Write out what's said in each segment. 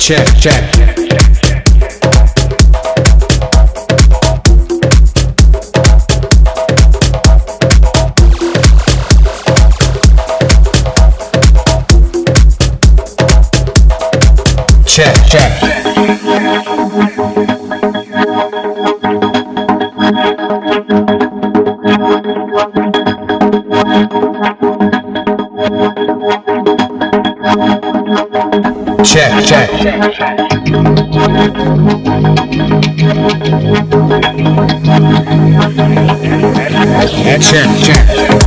Check, check. Check, check. Check, check. Check, check.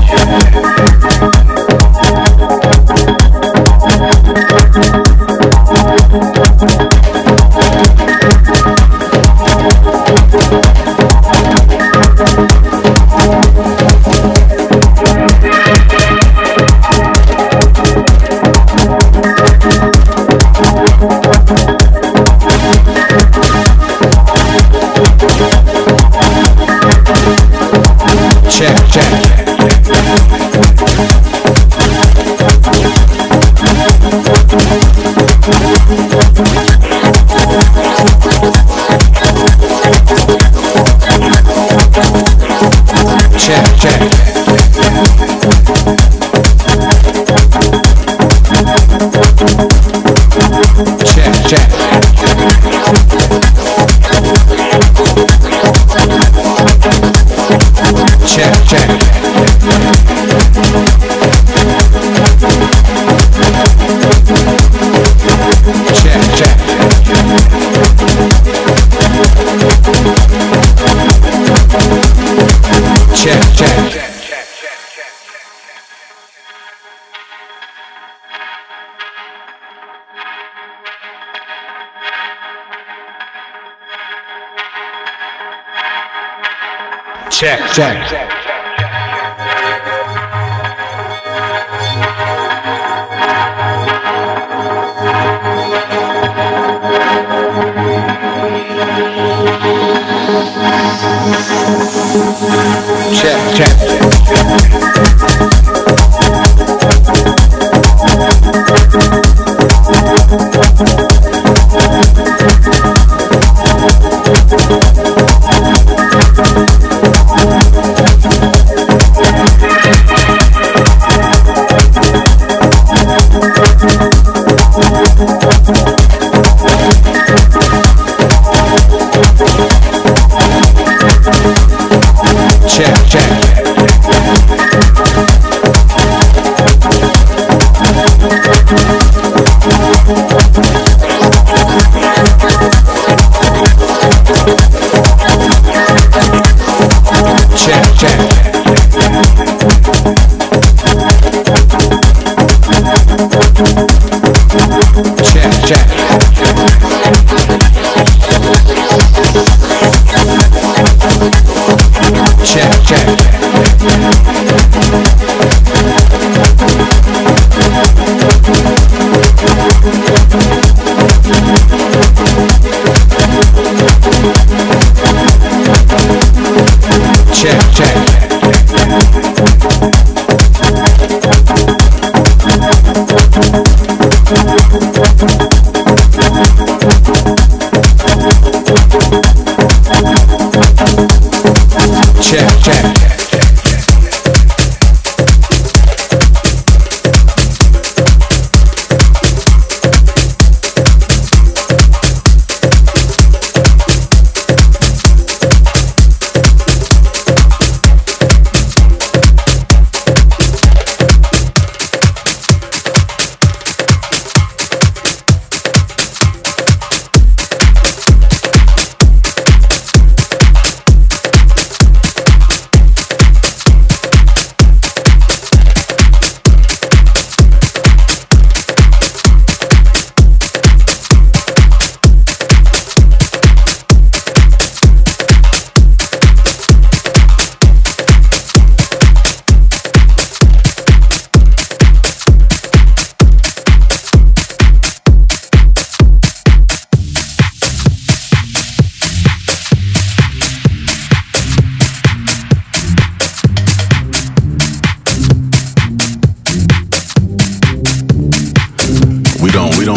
Check, check. Check, check.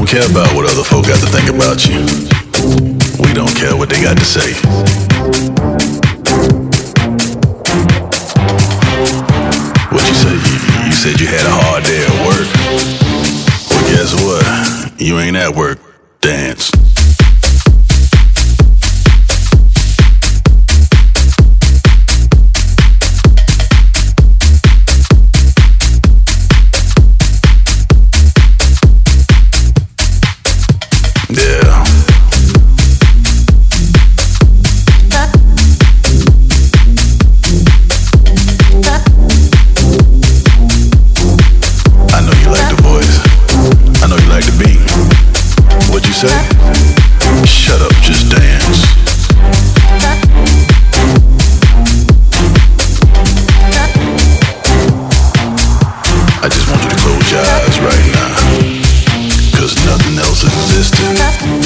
don't care about what other folk got to think about you. We don't care what they got to say. What you say? You said you had a hard day at work. Well, guess what? You ain't at work. Dance. Yeah. I know you like the voice. I know you like the beat. What'd you say? Shut up, just dance. I just want you to close your eyes right now, 'cause nothing else existed.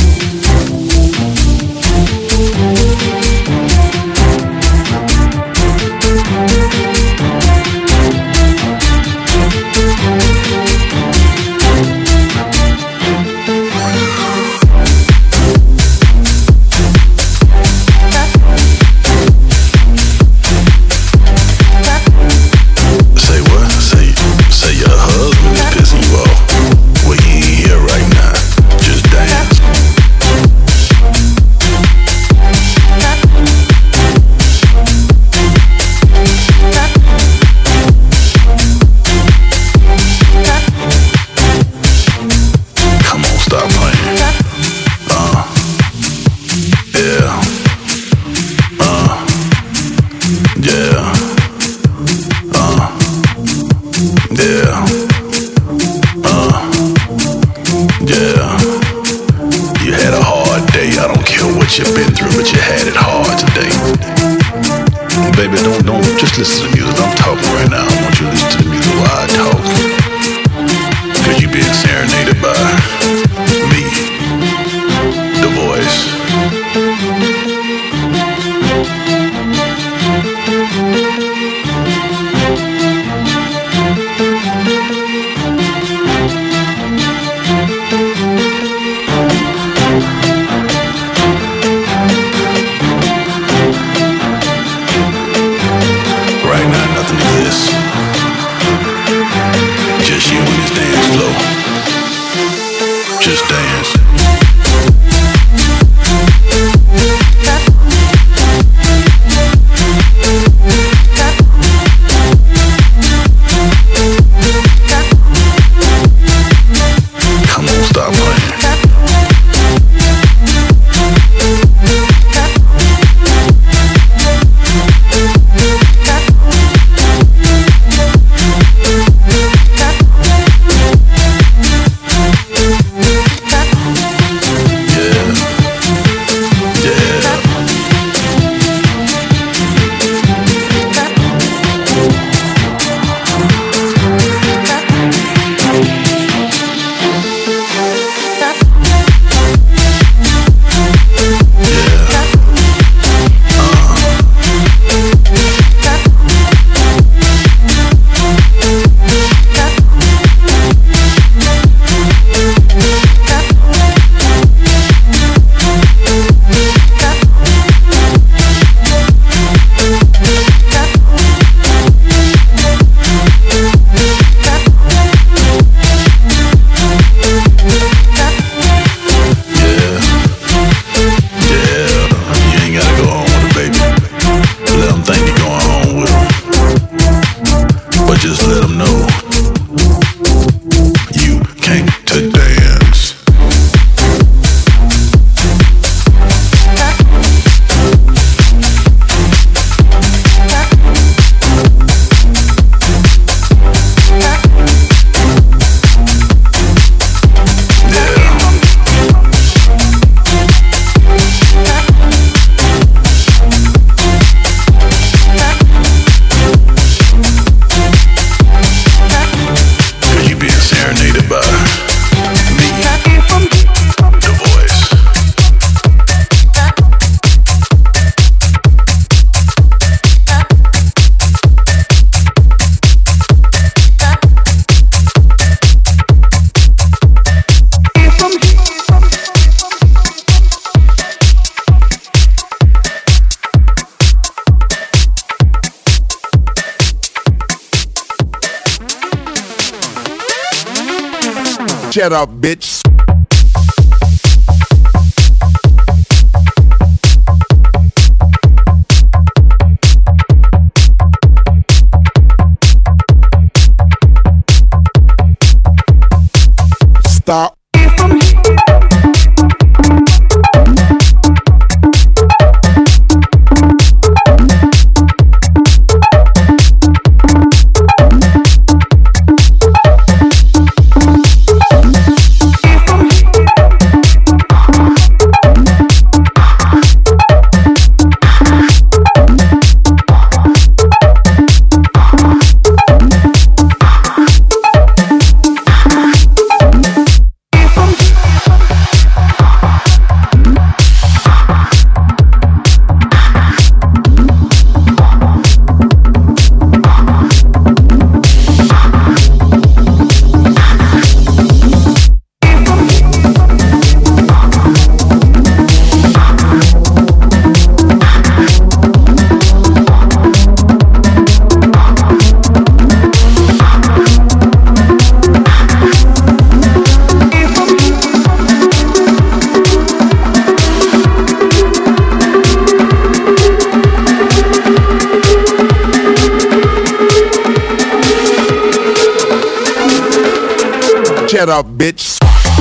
Say your husband is pissing you off. Well, he ain't here right now. Just dance. Come on, stop playing. Yeah. Yeah. Yeah. Yeah. You had a hard day. I don't care what you've been through, but you had it hard today. Baby, don't just listen to the music. I'm talking right now. I want you to listen to the music while I talk. 'Cause you being serenaded by me, the voice. Right now, nothing exists. Shut up, bitch. Stop. Shut up, bitch.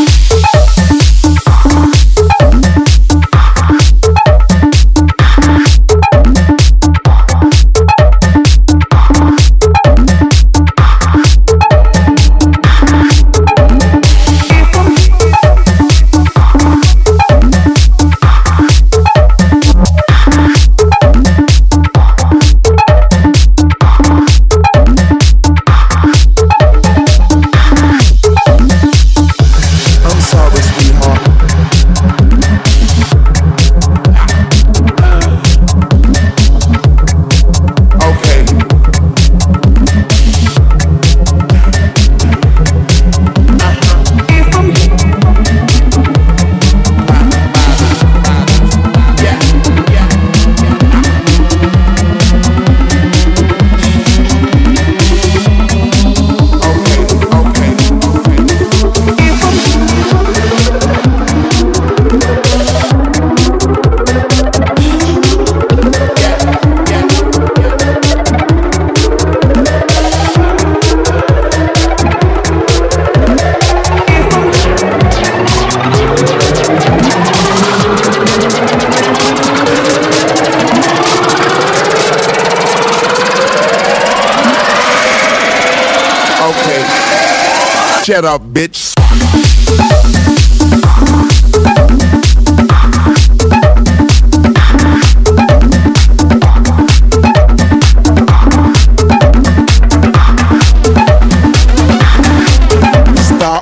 Shut up, bitch. Stop.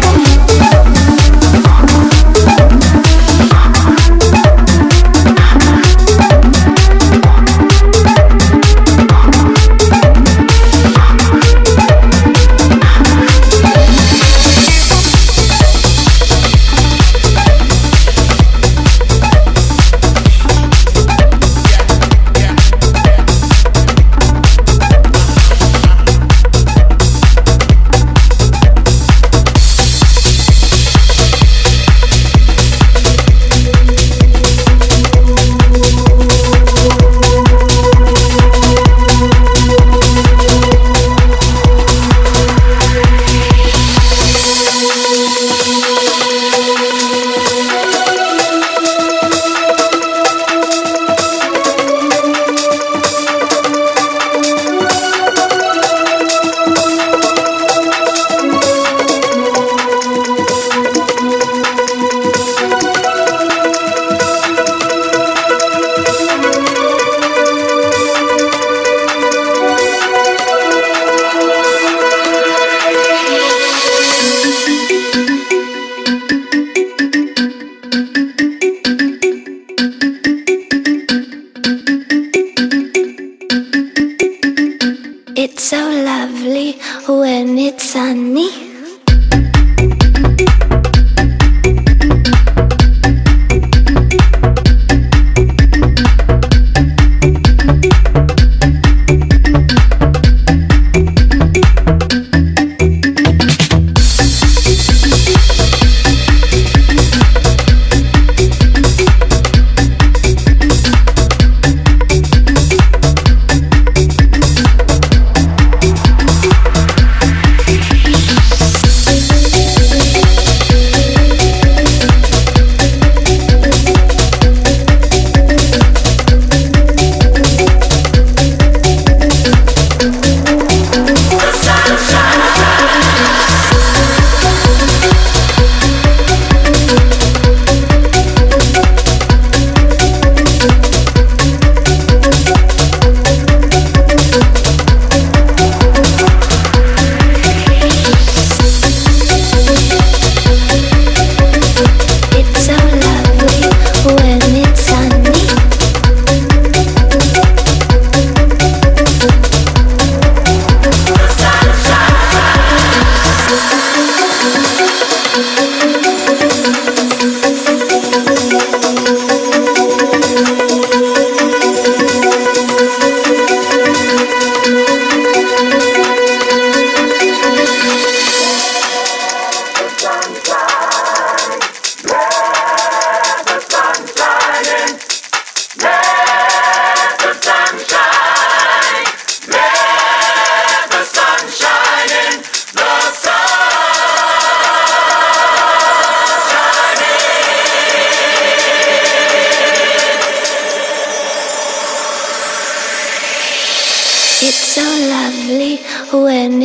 It's so lovely when it's sunny.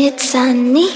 it's sunny.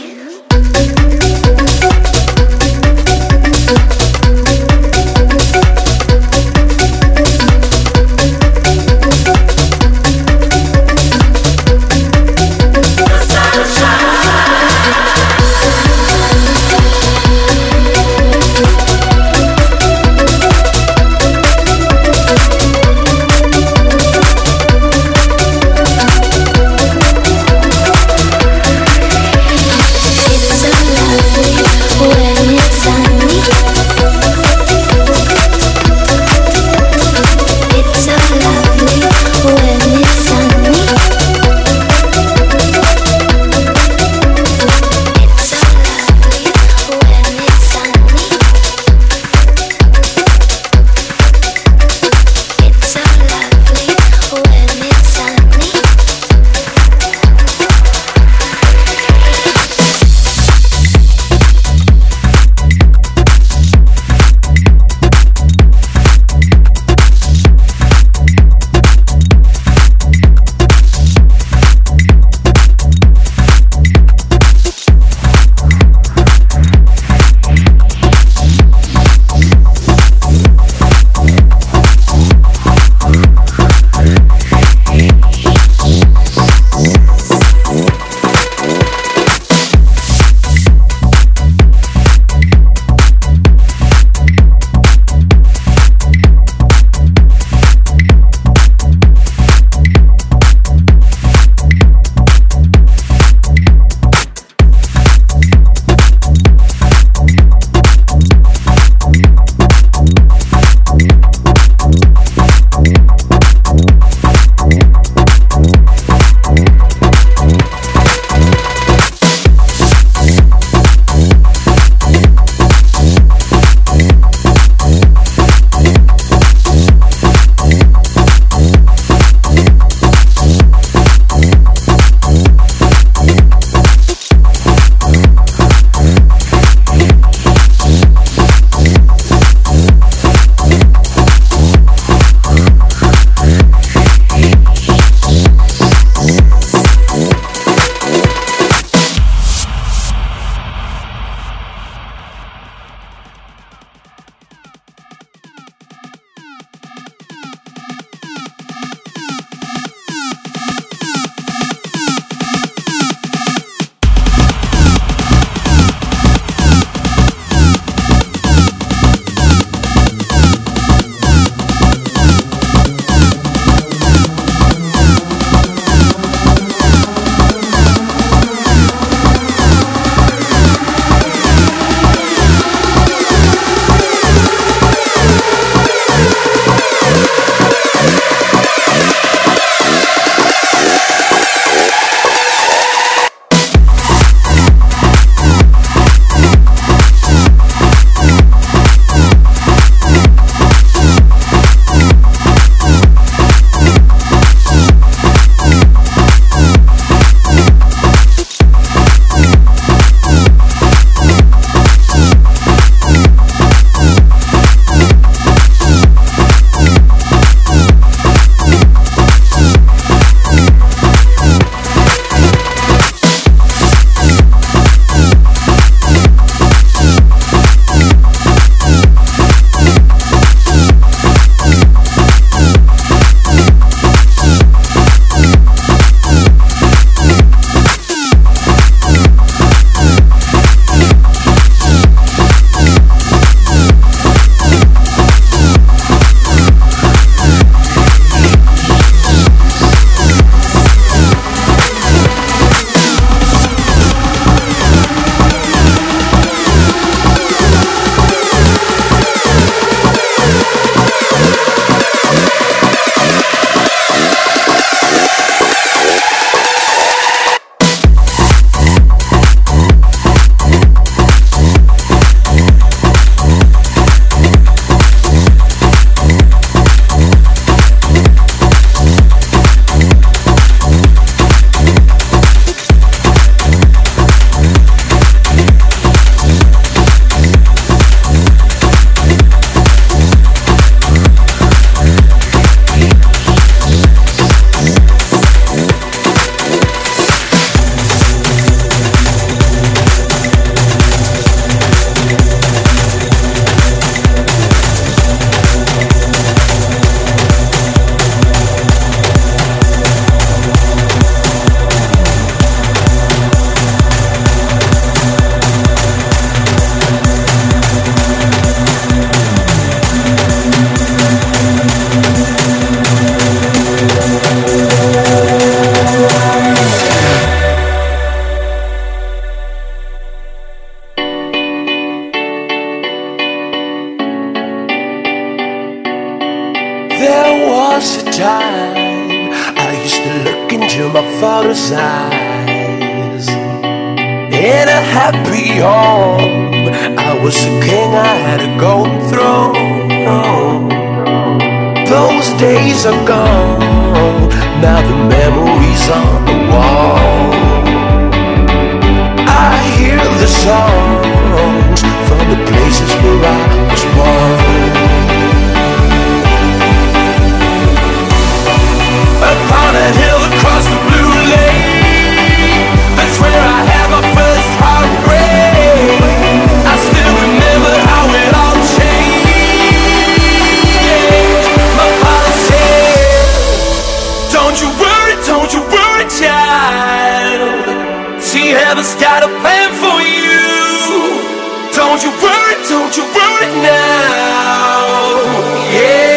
was a time I used to look into my father's eyes. In a happy home, I was a king, I had a golden throne. Those days are gone, now the memories on the wall. I hear the songs from the places where I was born. Upon a hill across the blue lake, that's where I had my first heartbreak. I still remember how it all changed. My father said, don't you worry, child. See, heaven's got a plan for you. Don't you worry now. Yeah.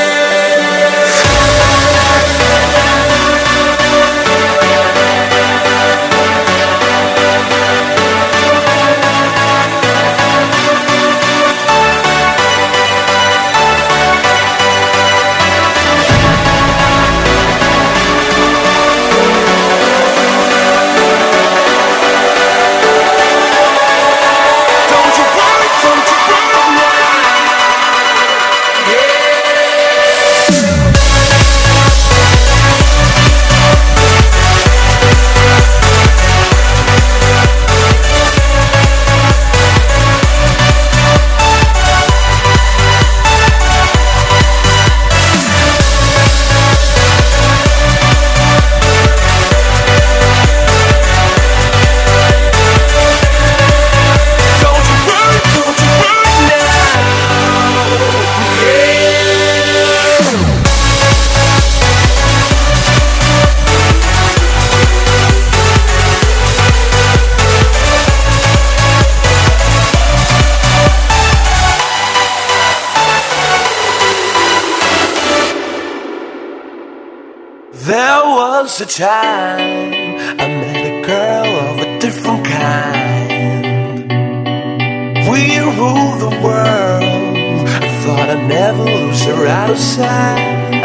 There was a time I met a girl of a different kind. We ruled the world. I thought I'd never lose her out of sight.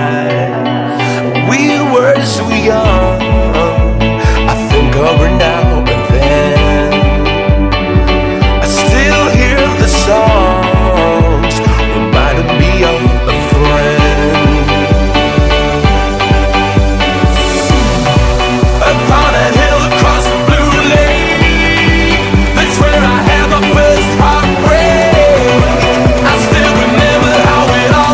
We were so young. I think of her now and then. I still hear the songs reminding me of a friend. Upon a hill across the blue lake, that's where I had my first heartbreak. I still remember how it all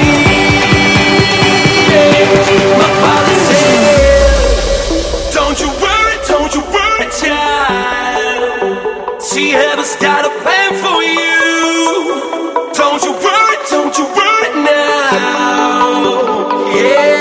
changed. My father said, don't you worry, child. See, heaven's got a plan for you. Don't you worry now. Yeah.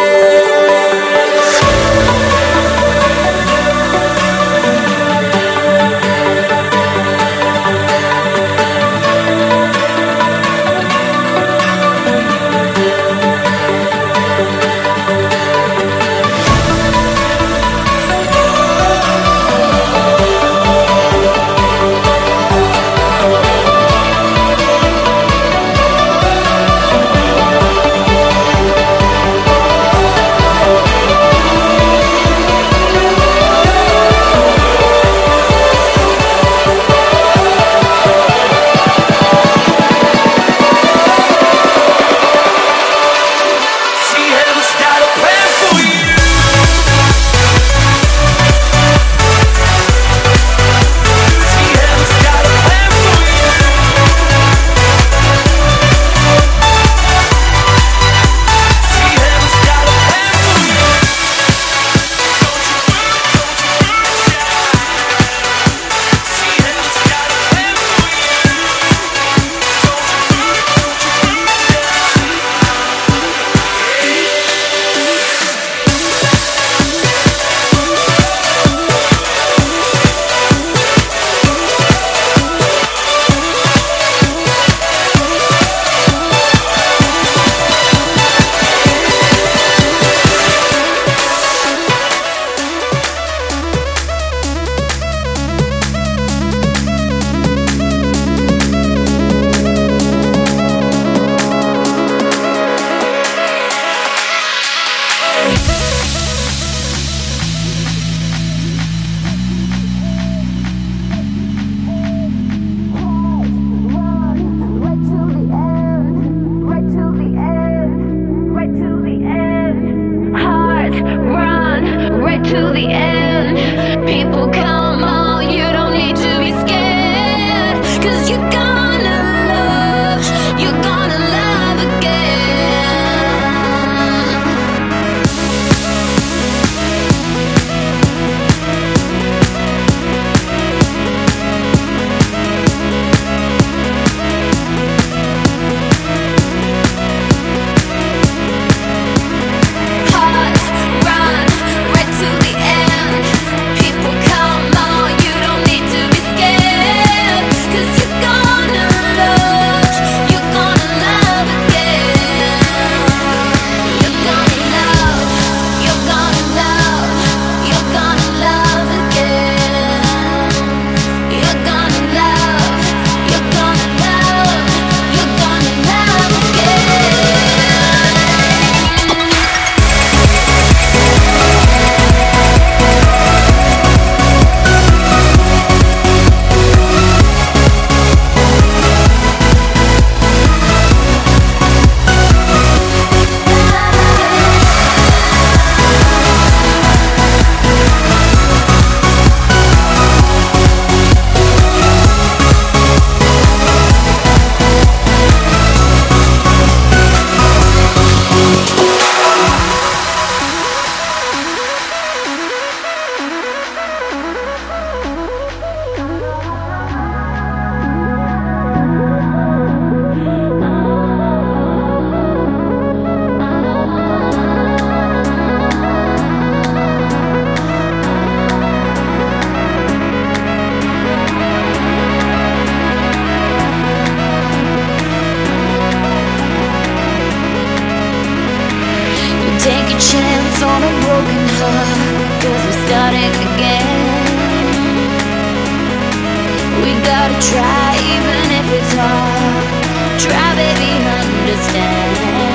We gotta try, even if it's hard. Try, baby, understand.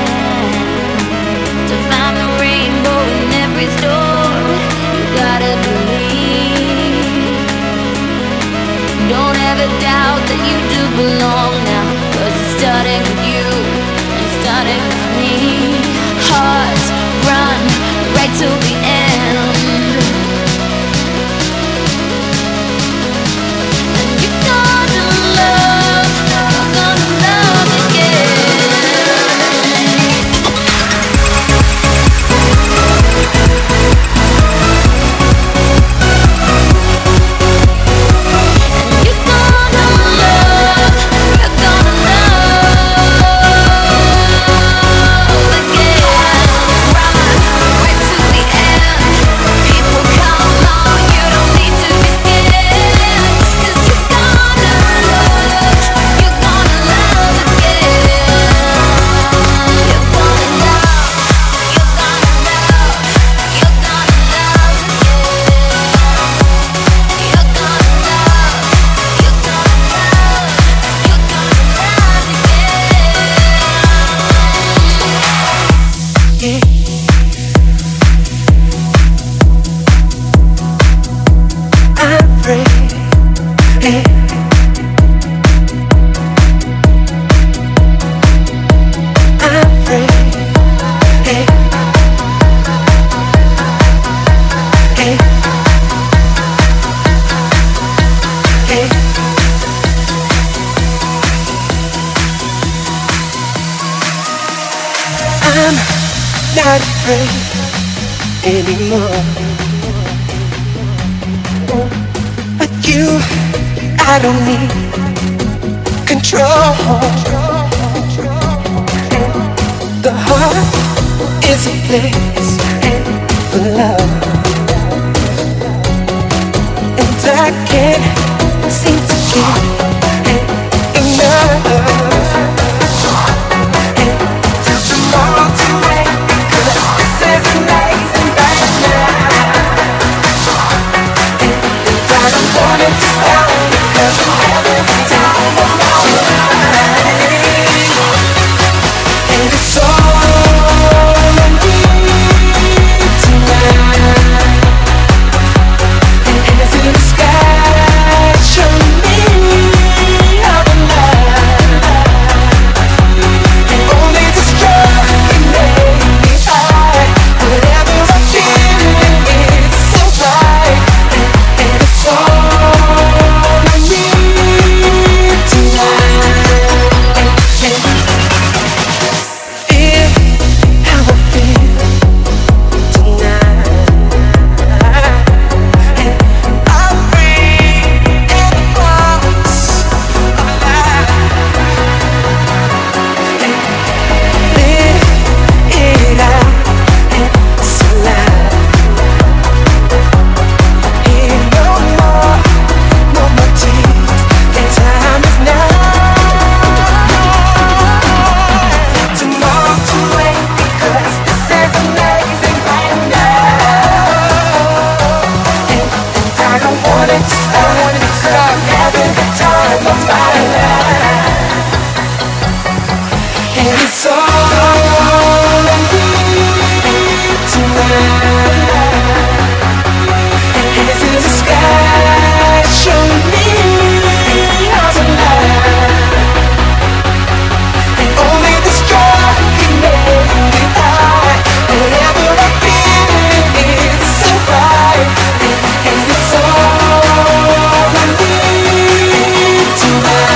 To find the rainbow in every storm, you gotta believe. Don't ever doubt that you do belong now, 'cause it started with you, and started with me. Hearts run right till the end. And you're gonna love again. Not afraid anymore. With you, I don't need control. The heart is a place for love, and I can't seem to get enough. Till tomorrow to wait, 'cause this is amazing right now. And I don't want it to stop, 'cause every time I'm alright. And it's all I need tonight. And as in the sky, show me how to lie. And only this drug can make me high. Whatever I'm feeling, it's so right. And it's all I need tonight. And feel how I feel tonight. And I'm free and the box alive. And live it out and it's alive. Here no more tears. The time is now. Tomorrow to wait, because this is amazing right now. And I don't want it to stop, because I'm having the time of my life. And it's all I need tonight. And it's in the sky, show me how to lie. And only this drug can make me high. Whatever I'm feeling is so right. And it's all I need tonight.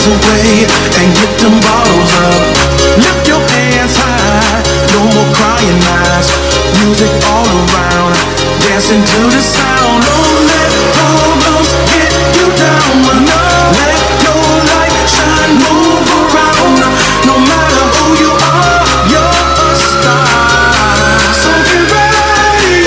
cares away and get them bottles up. Lift your hands high, no more crying eyes. Music all around, dancing to the sound. Don't let problems get you down. Let your light shine, move around. No matter who you are, you're a star. So get ready.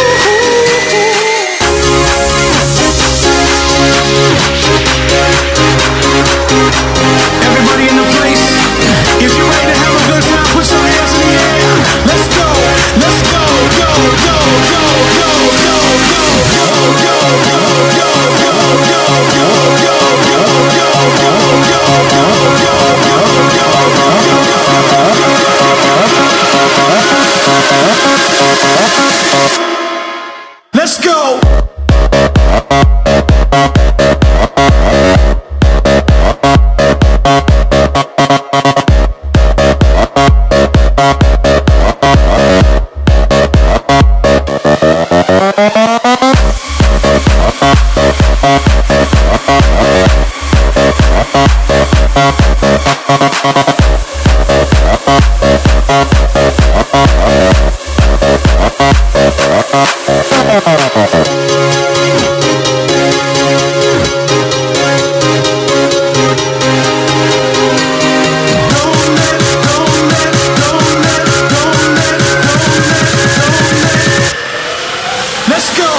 Everybody in the place, if you're ready to have a good time, put your hands in the air. Let's go, let's go, go, go, go, go, go, go, go, go, let's go. Let's go.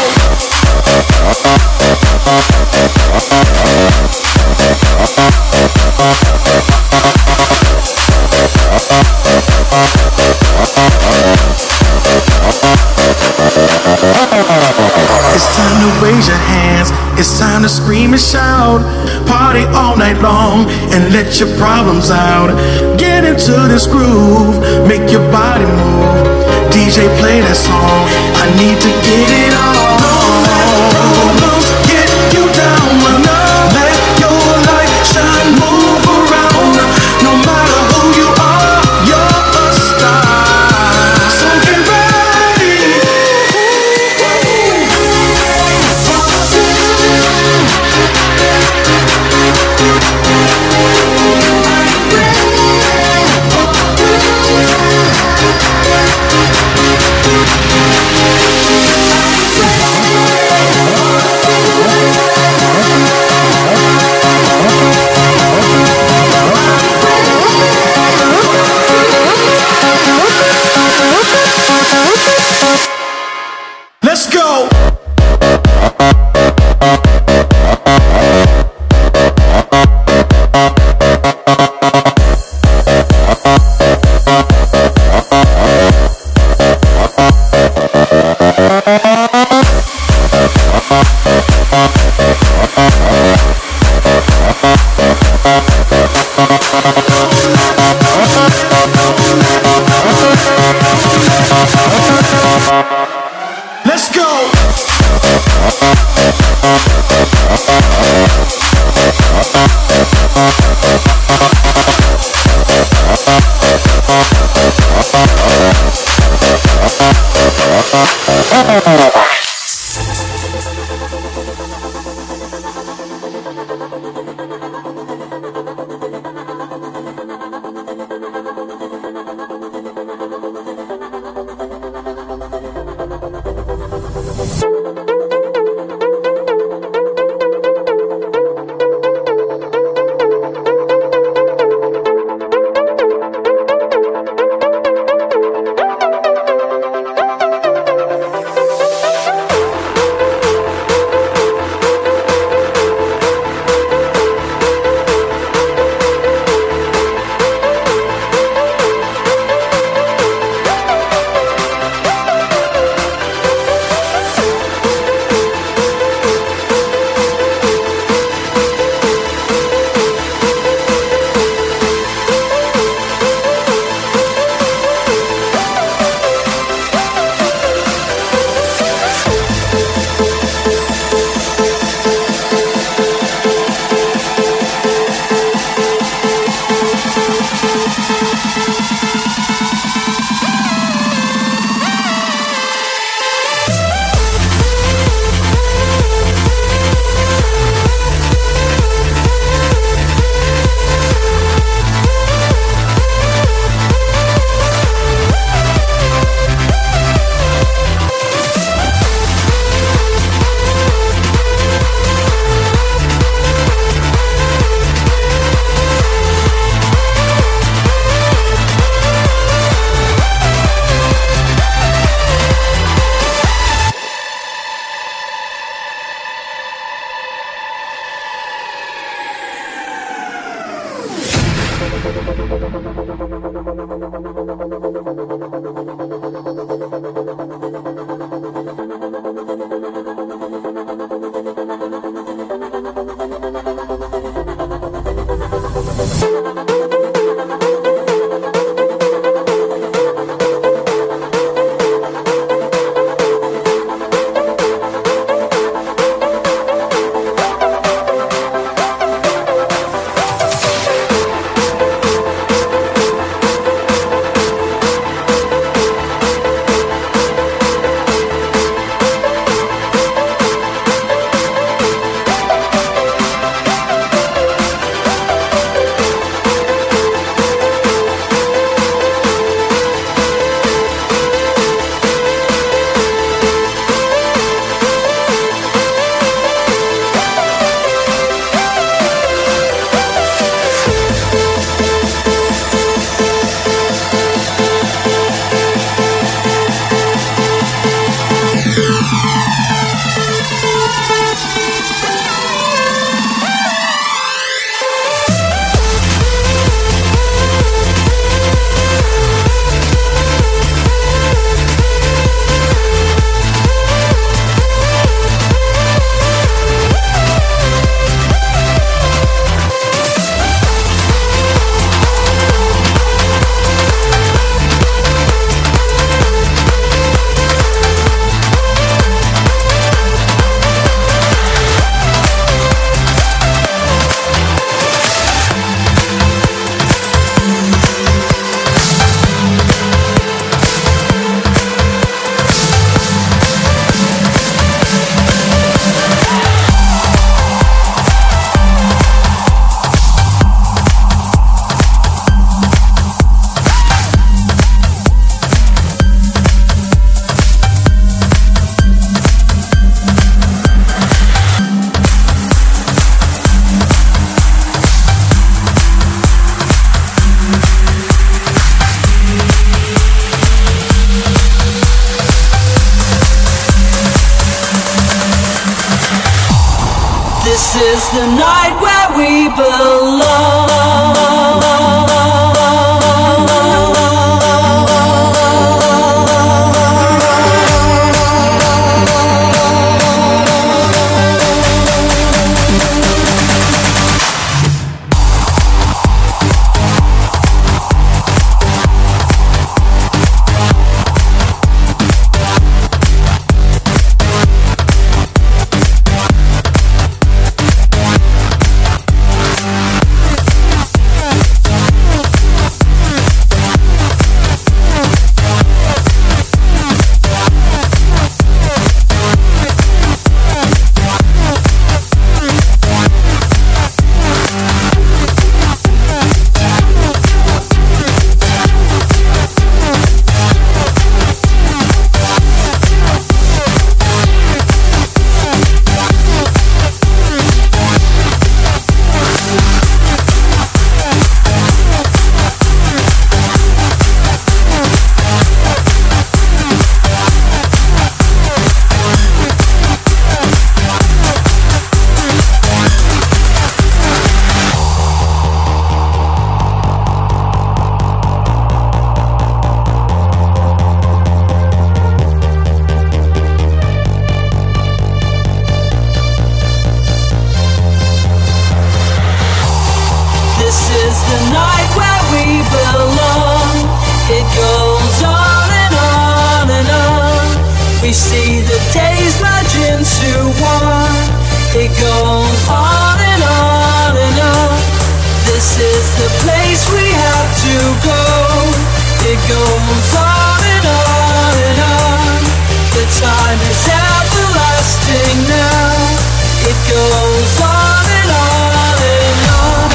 It's time to raise your hands. It's time to scream and shout. Party all night long and let your problems out. Get into this groove, make your body move. DJ, play that song. I need to get it on. Don't let problems get you down. Let your light shine, move around. No matter who you are, you're a star. So get ready. This is the night where we belong. We see the days merge into one. It goes on and on and on. This is the place we have to go. It goes on and on and on. The time is everlasting now. It goes on and on and on.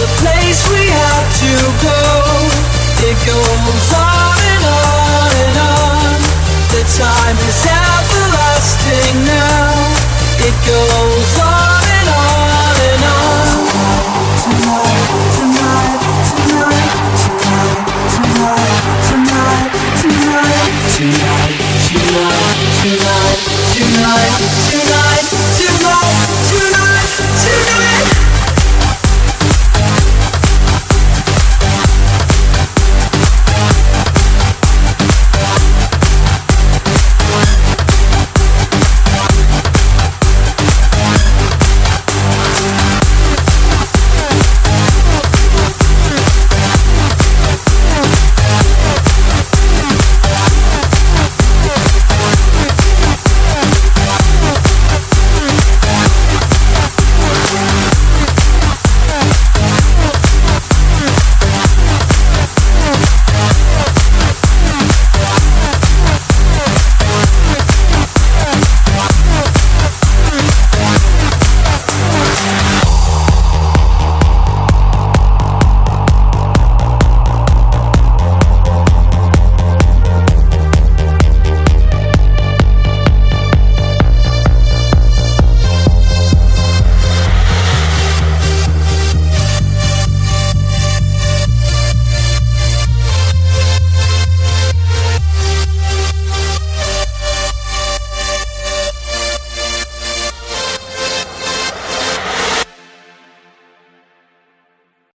the place we have to go.